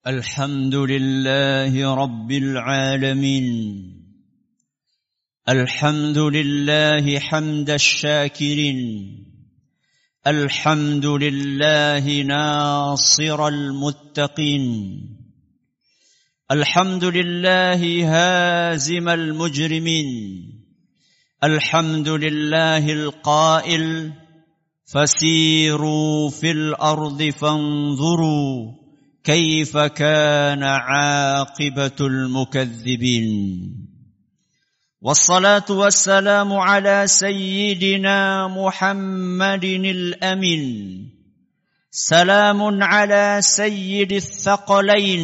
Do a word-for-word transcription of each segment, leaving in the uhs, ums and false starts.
الحمد لله رب العالمين الحمد لله حمد الشاكرين الحمد لله ناصر المتقين الحمد لله هازم المجرمين الحمد لله القائل فسيروا في الأرض فانظروا كيف كان عاقبة المكذبين والصلاة والسلام على سيدنا محمد الأمين سلام على سيد الثقلين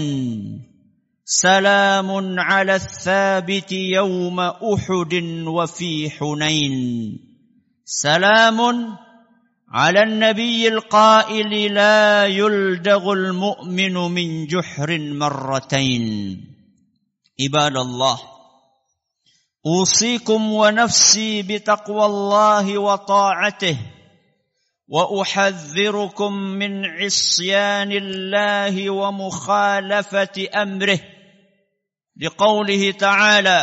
سلام على الثابت يوم أحد وفي حنين سلام على النبي القائل لا يلدغ المؤمن من جحر مرتين عباد الله أوصيكم ونفسي بتقوى الله وطاعته وأحذركم من عصيان الله ومخالفة أمره لقوله تعالى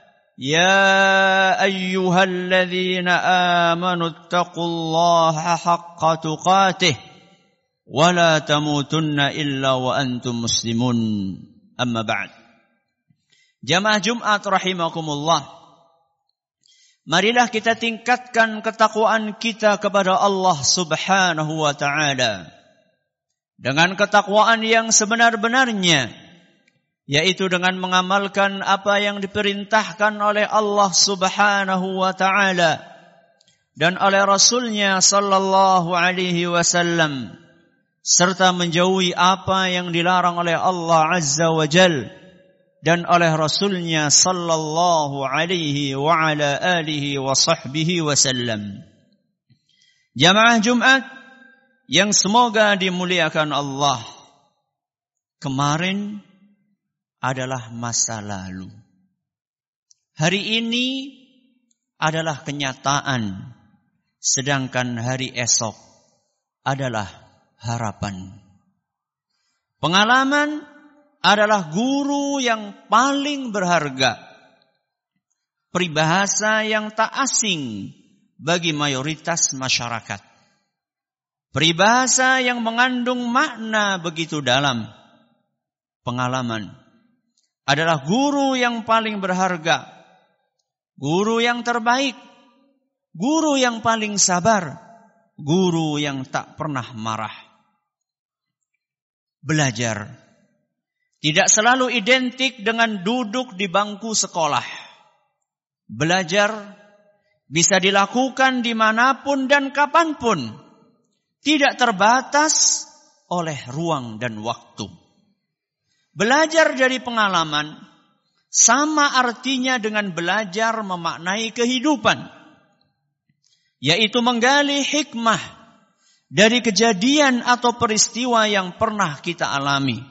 يا أيها الذين آمنوا اتقوا الله حق تقاته ولا تموتن إلا وأنتم مسلمون أما بعد Jamaah Jumat rahimakumullah, marilah kita tingkatkan ketakwaan kita kepada Allah subhanahu wa ta'ala dengan ketakwaan yang sebenar-benarnya, yaitu dengan mengamalkan apa yang diperintahkan oleh Allah subhanahu wa ta'ala dan oleh Rasulnya sallallahu alaihi wasallam, serta menjauhi apa yang dilarang oleh Allah azza wa jal dan oleh Rasulnya sallallahu alaihi wa ala alihi wa sahbihi wasallam. Jamaah Jumat yang semoga dimuliakan Allah, kemarin adalah masa lalu. Hari ini adalah kenyataan, sedangkan hari esok adalah harapan. Pengalaman adalah guru yang paling berharga. Peribahasa yang tak asing bagi mayoritas masyarakat. Peribahasa yang mengandung makna begitu dalam. Pengalaman adalah guru yang paling berharga, guru yang terbaik, guru yang paling sabar, guru yang tak pernah marah. Belajar tidak selalu identik dengan duduk di bangku sekolah. Belajar bisa dilakukan dimanapun dan kapanpun, tidak terbatas oleh ruang dan waktu. Belajar dari pengalaman sama artinya dengan belajar memaknai kehidupan, yaitu menggali hikmah dari kejadian atau peristiwa yang pernah kita alami.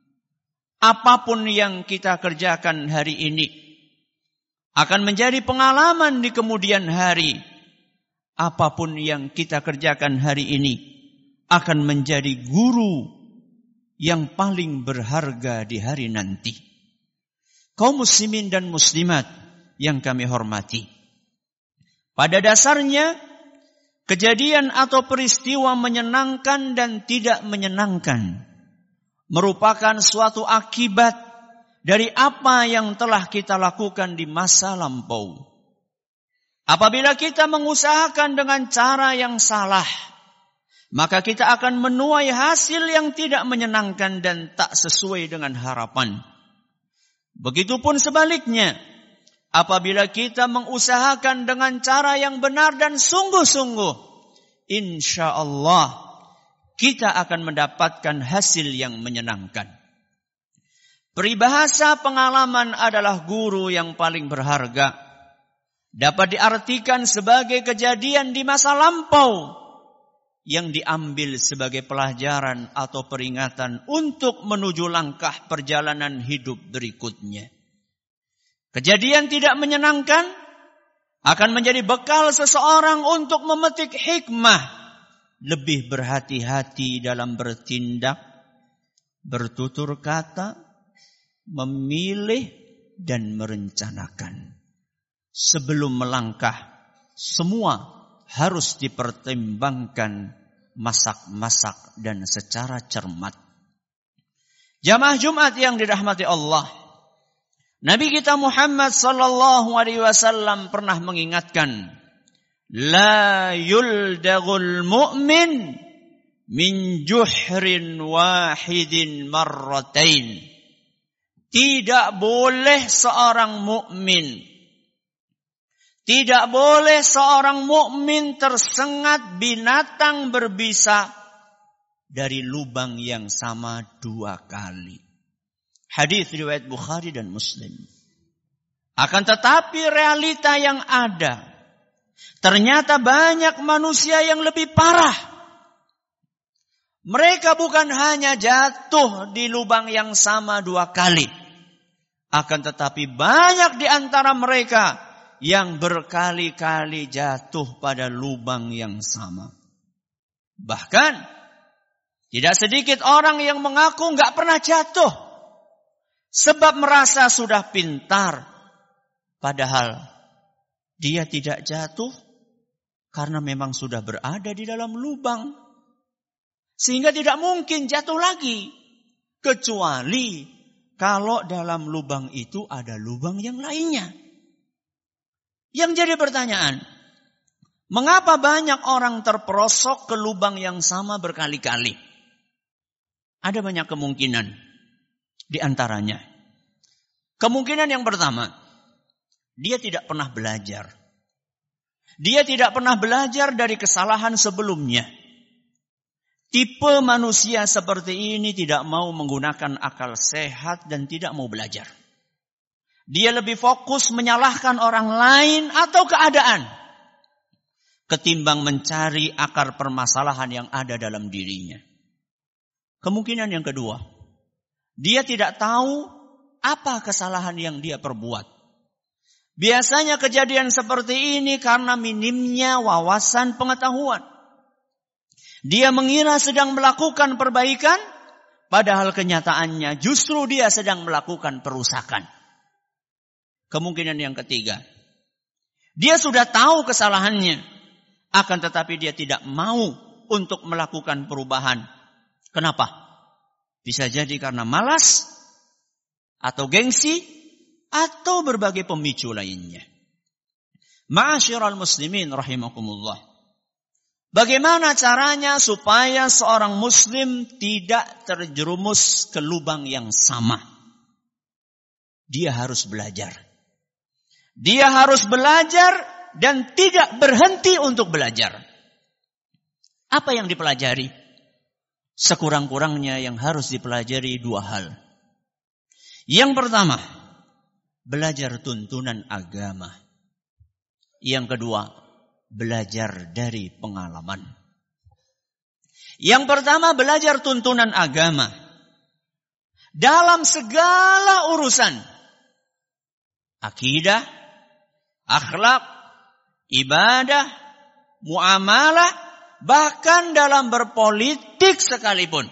Apapun yang kita kerjakan hari ini akan menjadi pengalaman di kemudian hari. Apapun yang kita kerjakan hari ini akan menjadi guru yang paling berharga di hari nanti. Kaum muslimin dan muslimat yang kami hormati, pada dasarnya kejadian atau peristiwa menyenangkan dan tidak menyenangkan merupakan suatu akibat dari apa yang telah kita lakukan di masa lampau. Apabila kita mengusahakan dengan cara yang salah, maka kita akan menuai hasil yang tidak menyenangkan dan tak sesuai dengan harapan. Begitupun sebaliknya, apabila kita mengusahakan dengan cara yang benar dan sungguh-sungguh, insya Allah kita akan mendapatkan hasil yang menyenangkan. Peribahasa pengalaman adalah guru yang paling berharga. Dapat diartikan sebagai kejadian di masa lampau yang diambil sebagai pelajaran atau peringatan untuk menuju langkah perjalanan hidup berikutnya. Kejadian tidak menyenangkan akan menjadi bekal seseorang untuk memetik hikmah, lebih berhati-hati dalam bertindak, bertutur kata, memilih dan merencanakan. Sebelum melangkah, semua harus dipertimbangkan masak-masak dan secara cermat. Jamaah Jumat yang dirahmati Allah, Nabi kita Muhammad sallallahu alaihi wasallam pernah mengingatkan, la yuldagul mu'min min juhrin wahidin marratain. Tidak boleh seorang mukmin, tidak boleh seorang mukmin tersengat binatang berbisa dari lubang yang sama dua kali. Hadis riwayat Bukhari dan Muslim. Akan tetapi realita yang ada, ternyata banyak manusia yang lebih parah. Mereka bukan hanya jatuh di lubang yang sama dua kali, akan tetapi banyak di antara mereka yang berkali-kali jatuh pada lubang yang sama. Bahkan tidak sedikit orang yang mengaku nggak pernah jatuh, sebab merasa sudah pintar. Padahal dia tidak jatuh karena memang sudah berada di dalam lubang. Sehingga tidak mungkin jatuh lagi. Kecuali kalau dalam lubang itu ada lubang yang lainnya. Yang jadi pertanyaan, mengapa banyak orang terperosok ke lubang yang sama berkali-kali? Ada banyak kemungkinan. Di antaranya, kemungkinan yang pertama, dia tidak pernah belajar. Dia tidak pernah belajar dari kesalahan sebelumnya. Tipe manusia seperti ini tidak mau menggunakan akal sehat dan tidak mau belajar. Dia lebih fokus menyalahkan orang lain atau keadaan ketimbang mencari akar permasalahan yang ada dalam dirinya. Kemungkinan yang kedua, dia tidak tahu apa kesalahan yang dia perbuat. Biasanya kejadian seperti ini karena minimnya wawasan pengetahuan. Dia mengira sedang melakukan perbaikan, padahal kenyataannya justru dia sedang melakukan perusakan. Kemungkinan yang ketiga, dia sudah tahu kesalahannya, akan tetapi dia tidak mau untuk melakukan perubahan. Kenapa? Bisa jadi karena malas, atau gengsi, atau berbagai pemicu lainnya. Ma'asyiral muslimin rahimakumullah. Bagaimana caranya supaya seorang muslim tidak terjerumus ke lubang yang sama? Dia harus belajar. Dia harus belajar dan tidak berhenti untuk belajar. Apa yang dipelajari? Sekurang-kurangnya yang harus dipelajari dua hal. Yang pertama, belajar tuntunan agama. Yang kedua, belajar dari pengalaman. Yang pertama, belajar tuntunan agama. Dalam segala urusan, akidah, akhlak, ibadah, muamalah, bahkan dalam berpolitik sekalipun.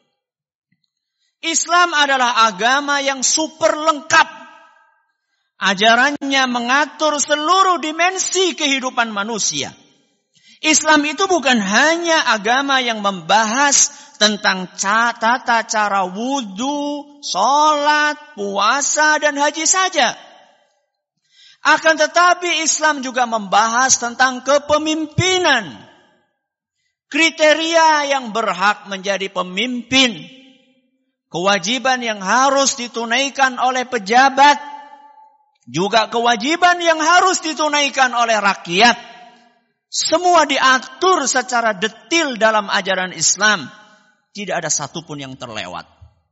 Islam adalah agama yang super lengkap. Ajarannya mengatur seluruh dimensi kehidupan manusia. Islam itu bukan hanya agama yang membahas tentang tata cara wudu, sholat, puasa, dan haji saja. Akan tetapi Islam juga membahas tentang kepemimpinan. Kriteria yang berhak menjadi pemimpin. Kewajiban yang harus ditunaikan oleh pejabat. Juga kewajiban yang harus ditunaikan oleh rakyat. Semua diatur secara detil dalam ajaran Islam. Tidak ada satupun yang terlewat.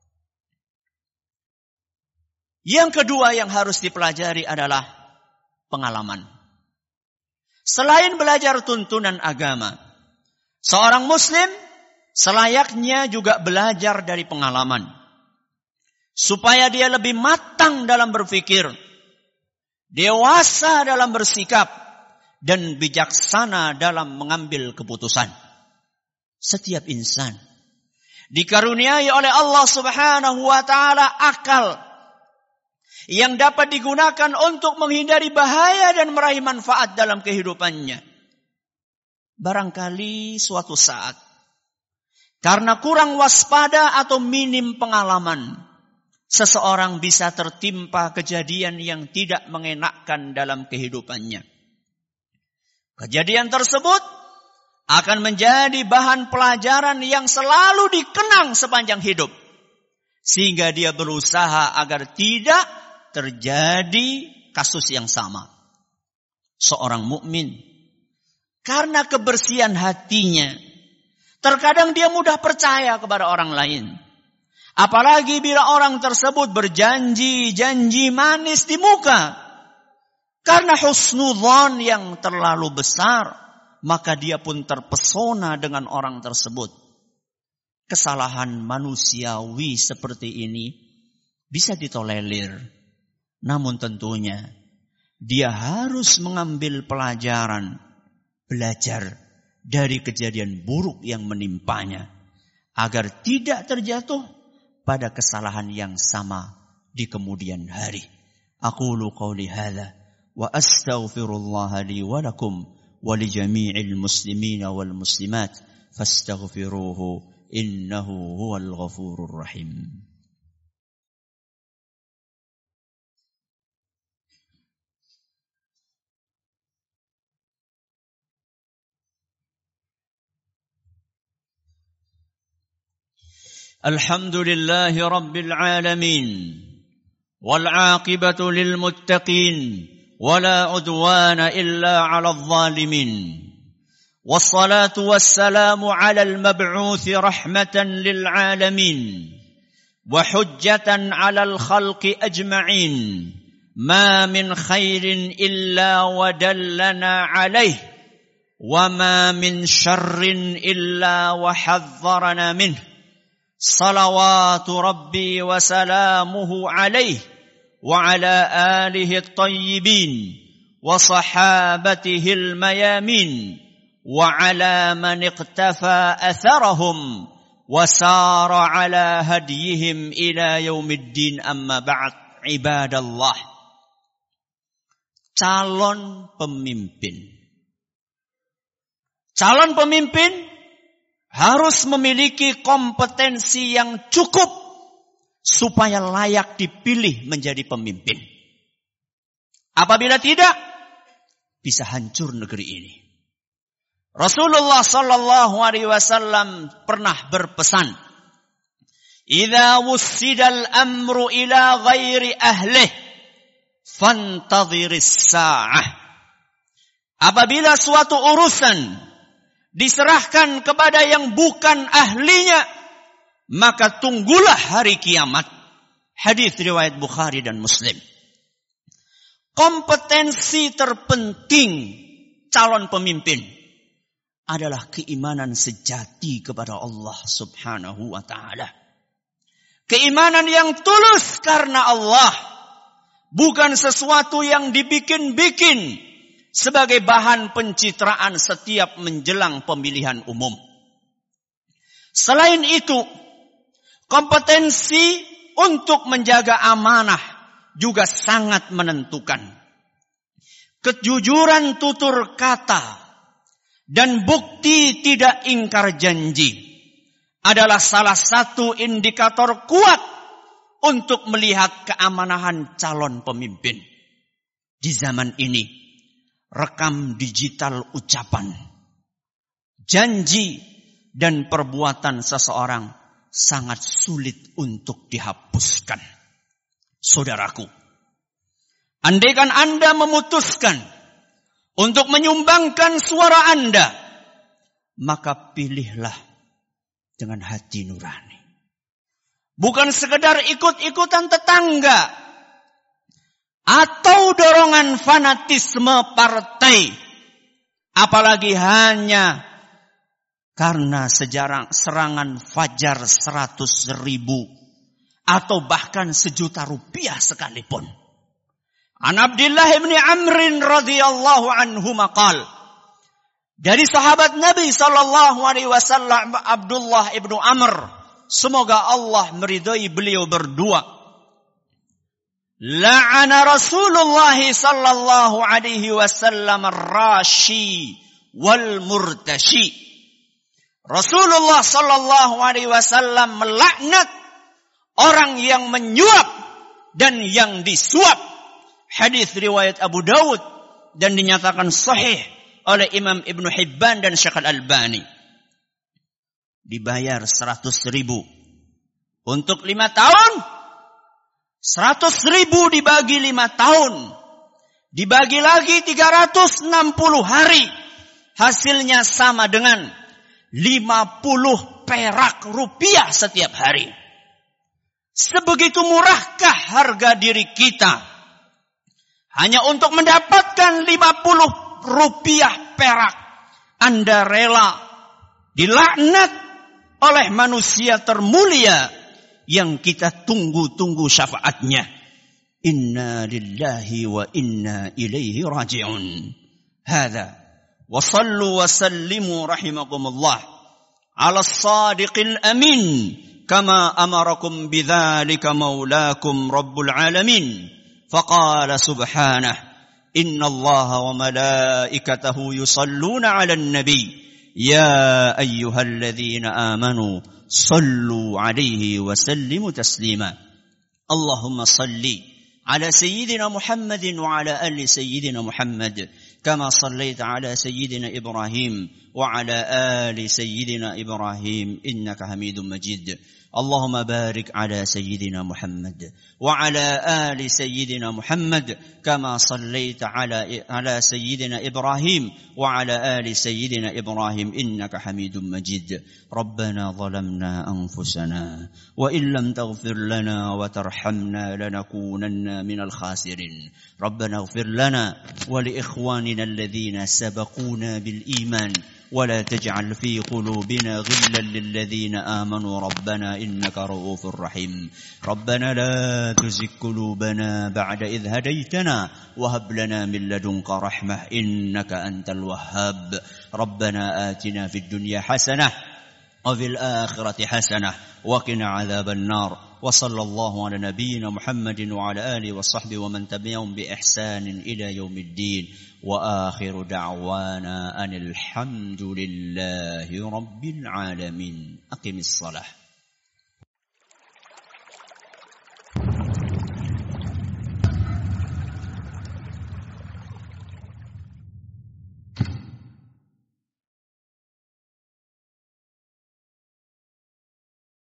Yang kedua yang harus dipelajari adalah pengalaman. Selain belajar tuntunan agama, seorang muslim selayaknya juga belajar dari pengalaman. Supaya dia lebih matang dalam berpikir, dewasa dalam bersikap, dan bijaksana dalam mengambil keputusan. Setiap insan dikaruniai oleh Allah Subhanahu wa taala akal yang dapat digunakan untuk menghindari bahaya dan meraih manfaat dalam kehidupannya. Barangkali suatu saat, karena kurang waspada atau minim pengalaman, seseorang bisa tertimpa kejadian yang tidak mengenakkan dalam kehidupannya. Kejadian tersebut akan menjadi bahan pelajaran yang selalu dikenang sepanjang hidup, sehingga dia berusaha agar tidak terjadi kasus yang sama. Seorang mukmin karena kebersihan hatinya, terkadang dia mudah percaya kepada orang lain. Apalagi bila orang tersebut berjanji-janji manis di muka. Karena husnudzon yang terlalu besar, maka dia pun terpesona dengan orang tersebut. Kesalahan manusiawi seperti ini bisa ditolerir. Namun tentunya dia harus mengambil pelajaran, belajar dari kejadian buruk yang menimpanya, agar tidak terjatuh pada kesalahan yang sama di kemudian hari. Aqulu qawli hadza wa astaghfirullah li wa lakum wa li jami'il muslimina wal muslimat fastaghfiruhu innahu huwal ghafurur rahim. الحمد لله رب العالمين والعاقبة للمتقين ولا عدوان إلا على الظالمين والصلاة والسلام على المبعوث رحمة للعالمين وحجة على الخلق أجمعين ما من خير إلا ودلنا عليه وما من شر إلا وحذرنا منه صلوات ربي وسلامه عليه وعلى آله الطيبين وصحابته الميامين وعلى من اقتفى أثرهم وسار على هديهم إلى يوم الدين أما بعد عباد الله. Calon pemimpin. Calon pemimpin harus memiliki kompetensi yang cukup supaya layak dipilih menjadi pemimpin. Apabila tidak, bisa hancur negeri ini. Rasulullah sallallahu alaihi wasallam pernah berpesan, "Idza wussidal amru ila ghairi ahlih, fantadhiris sa'ah." Apabila suatu urusan diserahkan kepada yang bukan ahlinya, maka tunggulah hari kiamat. Hadis riwayat Bukhari dan Muslim. Kompetensi terpenting calon pemimpin adalah keimanan sejati kepada Allah Subhanahu wa taala. Keimanan yang tulus karena Allah, bukan sesuatu yang dibikin-bikin sebagai bahan pencitraan setiap menjelang pemilihan umum. Selain itu, kompetensi untuk menjaga amanah juga sangat menentukan. Kejujuran tutur kata dan bukti tidak ingkar janji adalah salah satu indikator kuat untuk melihat keamanahan calon pemimpin. Di zaman ini, rekam digital ucapan, janji, dan perbuatan seseorang sangat sulit untuk dihapuskan. Saudaraku, andaikan Anda memutuskan untuk menyumbangkan suara Anda, maka pilihlah dengan hati nurani. Bukan sekedar ikut-ikutan tetangga atau dorongan fanatisme partai, apalagi hanya karena sejarah serangan fajar seratus ribu atau bahkan sejuta rupiah sekalipun. An Abdullah bin Amr radhiyallahu anhu maqal, dari sahabat Nabi sallallahu alaihi wasallam Abdullah ibnu Amr, semoga Allah meridhai beliau berdua. La'ana Rasulullah sallallahu alaihi wasallam ar-rashi wal murtashi. Rasulullah sallallahu alaihi wasallam melaknat orang yang menyuap dan yang disuap. Hadis riwayat Abu Dawud dan dinyatakan sahih oleh Imam Ibn Hibban dan Syekh Al-Albani. Dibayar seratus ribu untuk lima tahun. Seratus ribu dibagi lima tahun. Dibagi lagi tiga ratus enam puluh hari. Hasilnya sama dengan lima puluh perak rupiah setiap hari. Sebegitu murahkah harga diri kita? Hanya untuk mendapatkan lima puluh rupiah perak. Anda rela dilaknat oleh manusia termulia yang kita tunggu-tunggu syafaatnya. Inna lillahi wa inna ilaihi raji'un. Hadha. Wa sallu wa sallimu rahimakumullah ala as-sadiqil amin kama amarakum bidzalika maulakum rabbul alamin. Faqala subhanahu inna allaha wa malaikatahu yusalluna ala an-nabi ya ayyuhalladzina amanu sallu alaihi wa sallimu taslima. Allahumma salli ala sayyidina Muhammadin wa ala ali sayyidina Muhammad kama sallaita ala sayyidina Ibrahim wa ala ali sayyidina Ibrahim innaka Hamidum Majid. اللهم بارك على سيدنا محمد وعلى آل سيدنا محمد كما صليت على على سيدنا إبراهيم وعلى آل سيدنا إبراهيم إنك حميد مجيد. ربنا ظلمنا أنفسنا وإن لم تغفر لنا وترحمنا لنكونن من الخاسرين. ربنا اغفر لنا ولإخواننا الذين سبقونا بالإيمان ولا تجعل في قلوبنا غلا للذين آمنوا ربنا إنك رؤوف رحيم. ربنا لا تزغ قلوبنا بعد إذ هديتنا وهب لنا من لدنك رحمة إنك أنت الوهاب. ربنا آتنا في الدنيا حسنة وفي الآخرة حسنة وقنا عذاب النار. وصلى الله على نبينا محمد وعلى آله وصحبه ومن تبعهم بإحسان إلى يوم الدين. وآخر دعوانا أن الحمد لله رب العالمين. أقم الصلاة.